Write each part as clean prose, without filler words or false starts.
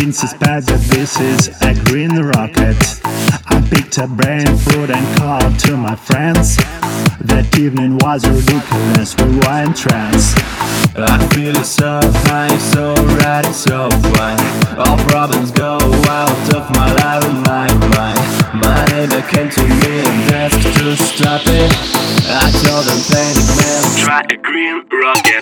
didn't suspect that this is a green rocket. I picked up brain food and called to my friends. That evening was ridiculous, we were in trance. I feel so high, so ready, so fine. All problems go out of my life and my mind. My neighbor came to me and asked to stop it. I told him, panic man, try a green rocket.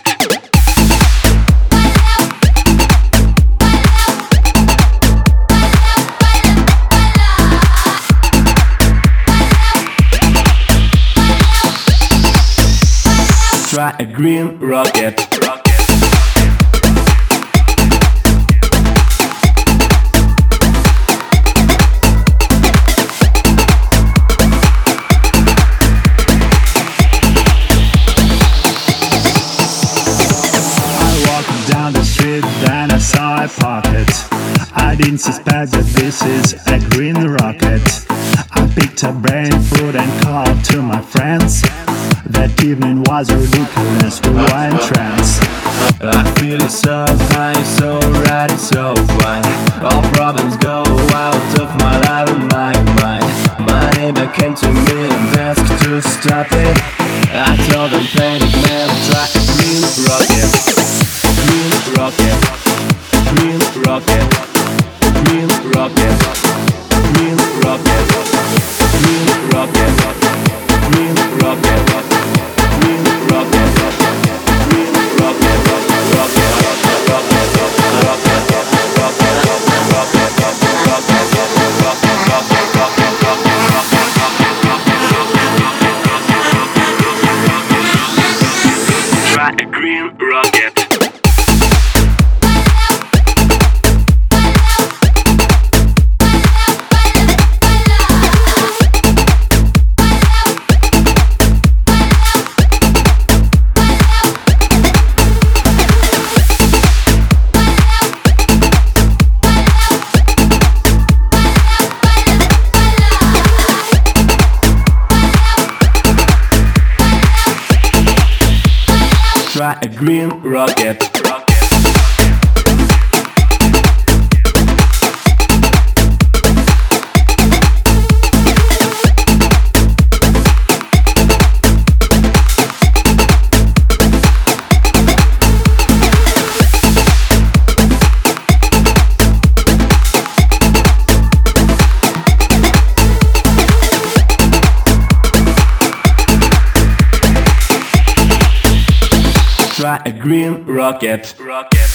Try a green rocket. Down the street, then I saw a pocket. I didn't suspect that this is a green rocket. I picked up brain food and called to my friends. That evening was ridiculous, we were in trance. I feel so high, so ready, so fine. All problems go out of my life and my mind. My neighbor came to me and asked to stop it. I told him, panic man, try a green rocket. Green rocket, green rocket, green rocket, green rocket, green rocket, green rocket, green rocket, green rocket, try a green rocket. Try a green rocket. Try a green rocket.